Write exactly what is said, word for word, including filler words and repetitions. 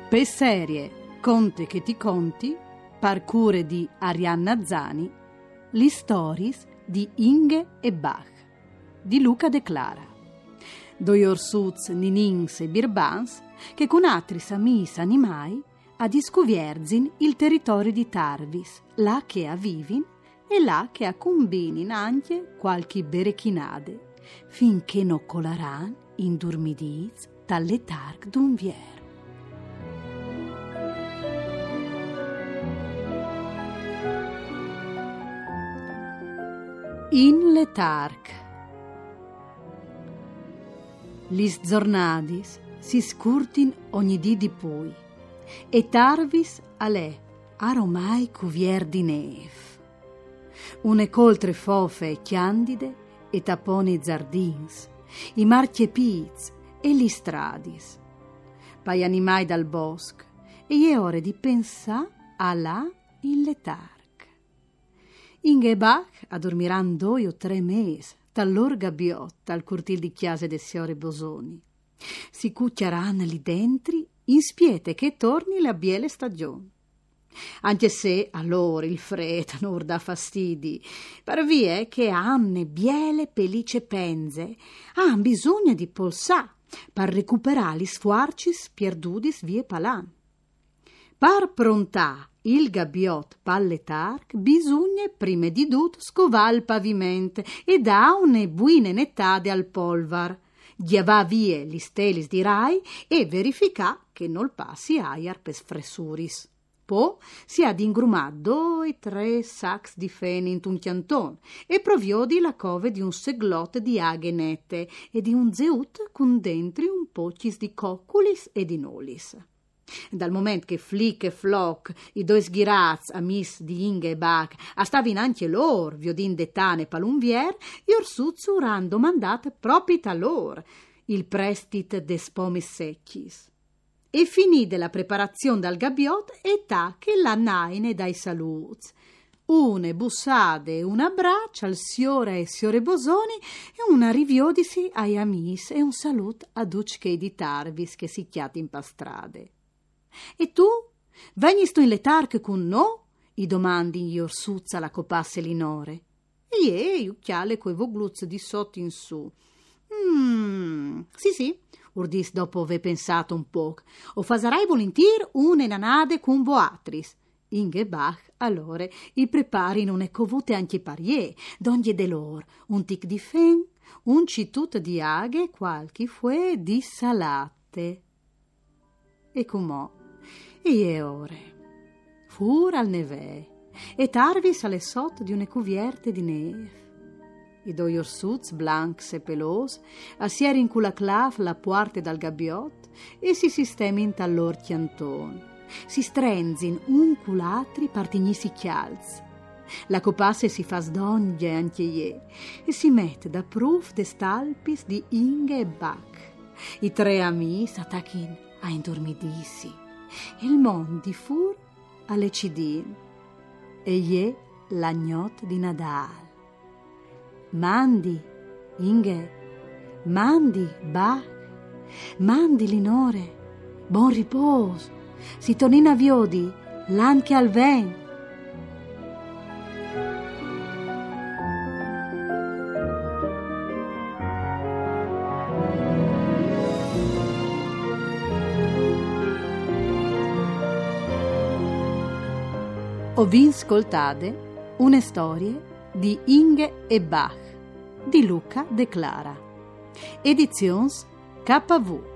Per serie Conte che ti conti, parcure di Arianna Zani, le stories di Inge e Bach, di Luca De Clara. Doi orsuz, ninins e birbans, che con altri amis animai a discuvierzin il territorio di Tarvis, là che a vivin e là che a combinin anche qualche berechinade, finché no colaran in durmidiz dalle targ d'un vier. In letarg. Lis giornadis si scurtin ogni dì di pui, e Tarvis alè aromai cuvier di nef. Une coltre fofe e chiandide e taponi zardins, i marchiepiz e li stradis. Pai animai dal bosco, e je ore di pensà a là in letarg. Inge e Bach addormiran due o tre mesi, tal gabbiotta al cortil di chiase de siore Bosoni. Si cucchiaran lì dentri, in spiete che torni la biele stagione. Anche se allora il freddo non dà fastidi, per via che hanno biele pellice penze, han bisogno di polsà per recuperare gli sfuarcis pierdudis vie palan. Per prontà il gabbiot palletarc bisogna prima di tutto scovare il pavimento e da une buine nettade al polvar, giavà vie gli stelis di rai e verificà che non passi aiar per sfressuris. Poi si ad ingrumà due tre sacs di fene in un chianton e proviodi la cove di un seglot di aghe nette e di un zeut con dentri un pocis di cocculis e di nolis. Dal momento che Flick e Flock, i due sghiraz amis di Inge e Bach, stavano anche loro, viodin de tane palunvier, gli orsuzzu ran domandat proprio a loro il prestit de spomis secchis. E finì della preparazione dal gabbiot e ta che la naine dai saluts. Une bussade e una braccia al siore e siore Bosoni e una riviodisi ai amis e un salut a ducche di Tarvis che si chiati in pastrade. E tu? Venisto in letarc con no? I domandi gli orsuzza la copasse Linore. E ie, ucchiale coi vogluz di sotto in su. Mm, sì sì, urdis dopo aver pensato un po'. O fasarai volentier une nanade con boatris. Inge Bach allora i prepari non è covute anche parie, d'ogni de lor, un tic di fen, un citut di aghe, qualche fue di salate. E comò, e ore, fur al nevè, e Tarvis alle sotto di une cuvierte di neve. I due orsuz blancs e pelos assier in cula clav la puarte dal gabbiot e si sistemin tallor chianton. Si strenzin un culatri partigni si chialz. La copasse si fa sdoglie anche ie e si mette da proof de stalpis di Inge e Bach. I tre amis attachin a indormidissi e il mondi fur alle cidin e ie l'agnot di Nadal. Mandi, Inge, mandi, Bach, mandi, Linore, buon riposo, si tornina viodi, l'anche al ven. Ho vi ascoltate una storia di Inge e Bach di Luca De Clara. Edizions K V.